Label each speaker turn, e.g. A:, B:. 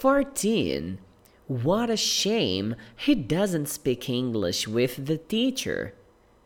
A: 14. What a shame he doesn't speak English with the teacher.